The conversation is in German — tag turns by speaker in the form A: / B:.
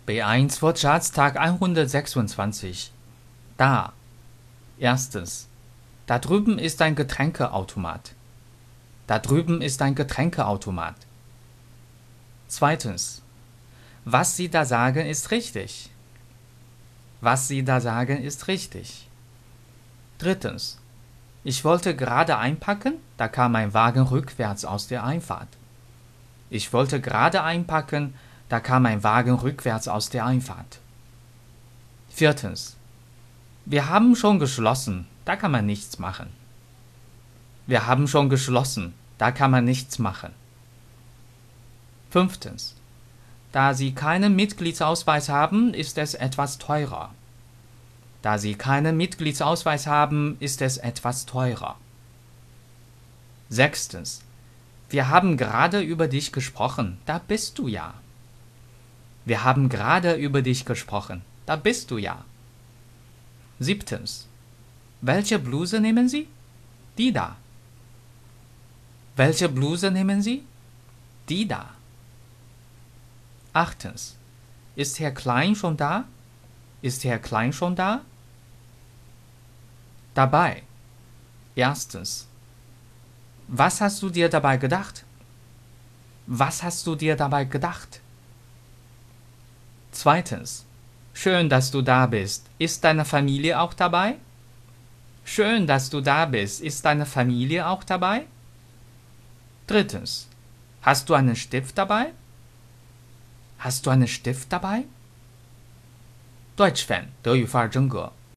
A: B1 Wortschatztag 126. Da. Erstens. Da drüben ist ein Getränkeautomat. Da drüben ist ein Getränkeautomat. Zweitens. Was Sie da sagen, ist richtig. Was Sie da sagen, ist richtig. Drittens. Ich wollte gerade einpacken, da kam ein Wagen rückwärts aus der Einfahrt. Ich wollte gerade einpacken, da kam ein Wagen rückwärts aus der Einfahrt. Viertens. Wir haben schon geschlossen, da kann man nichts machen. Wir haben schon geschlossen, da kann man nichts machen. Fünftens. Da Sie keinen Mitgliedsausweis haben, ist es etwas teurer. Da Sie keinen Mitgliedsausweis haben, ist es etwas teurer. Sechstens. Wir haben gerade über dich gesprochen, da bist du ja. Wir haben gerade über dich gesprochen, da bist du ja. Siebtens. Welche Bluse nehmen Sie? Die da. Welche Bluse nehmen Sie? Die da. Achtens. Ist Herr Klein schon da? Ist Herr Klein schon da? Dabei. Erstens. Was hast du dir dabei gedacht? Was hast du dir dabei gedacht? Zweitens. Schön, dass du da bist. Ist deine Familie auch dabei? Schön, dass du da bist. Ist deine Familie auch dabei? Drittens. Hast du einen Stift dabei? Hast du einen Stift dabei? Deutsch Fan 德语范儿真格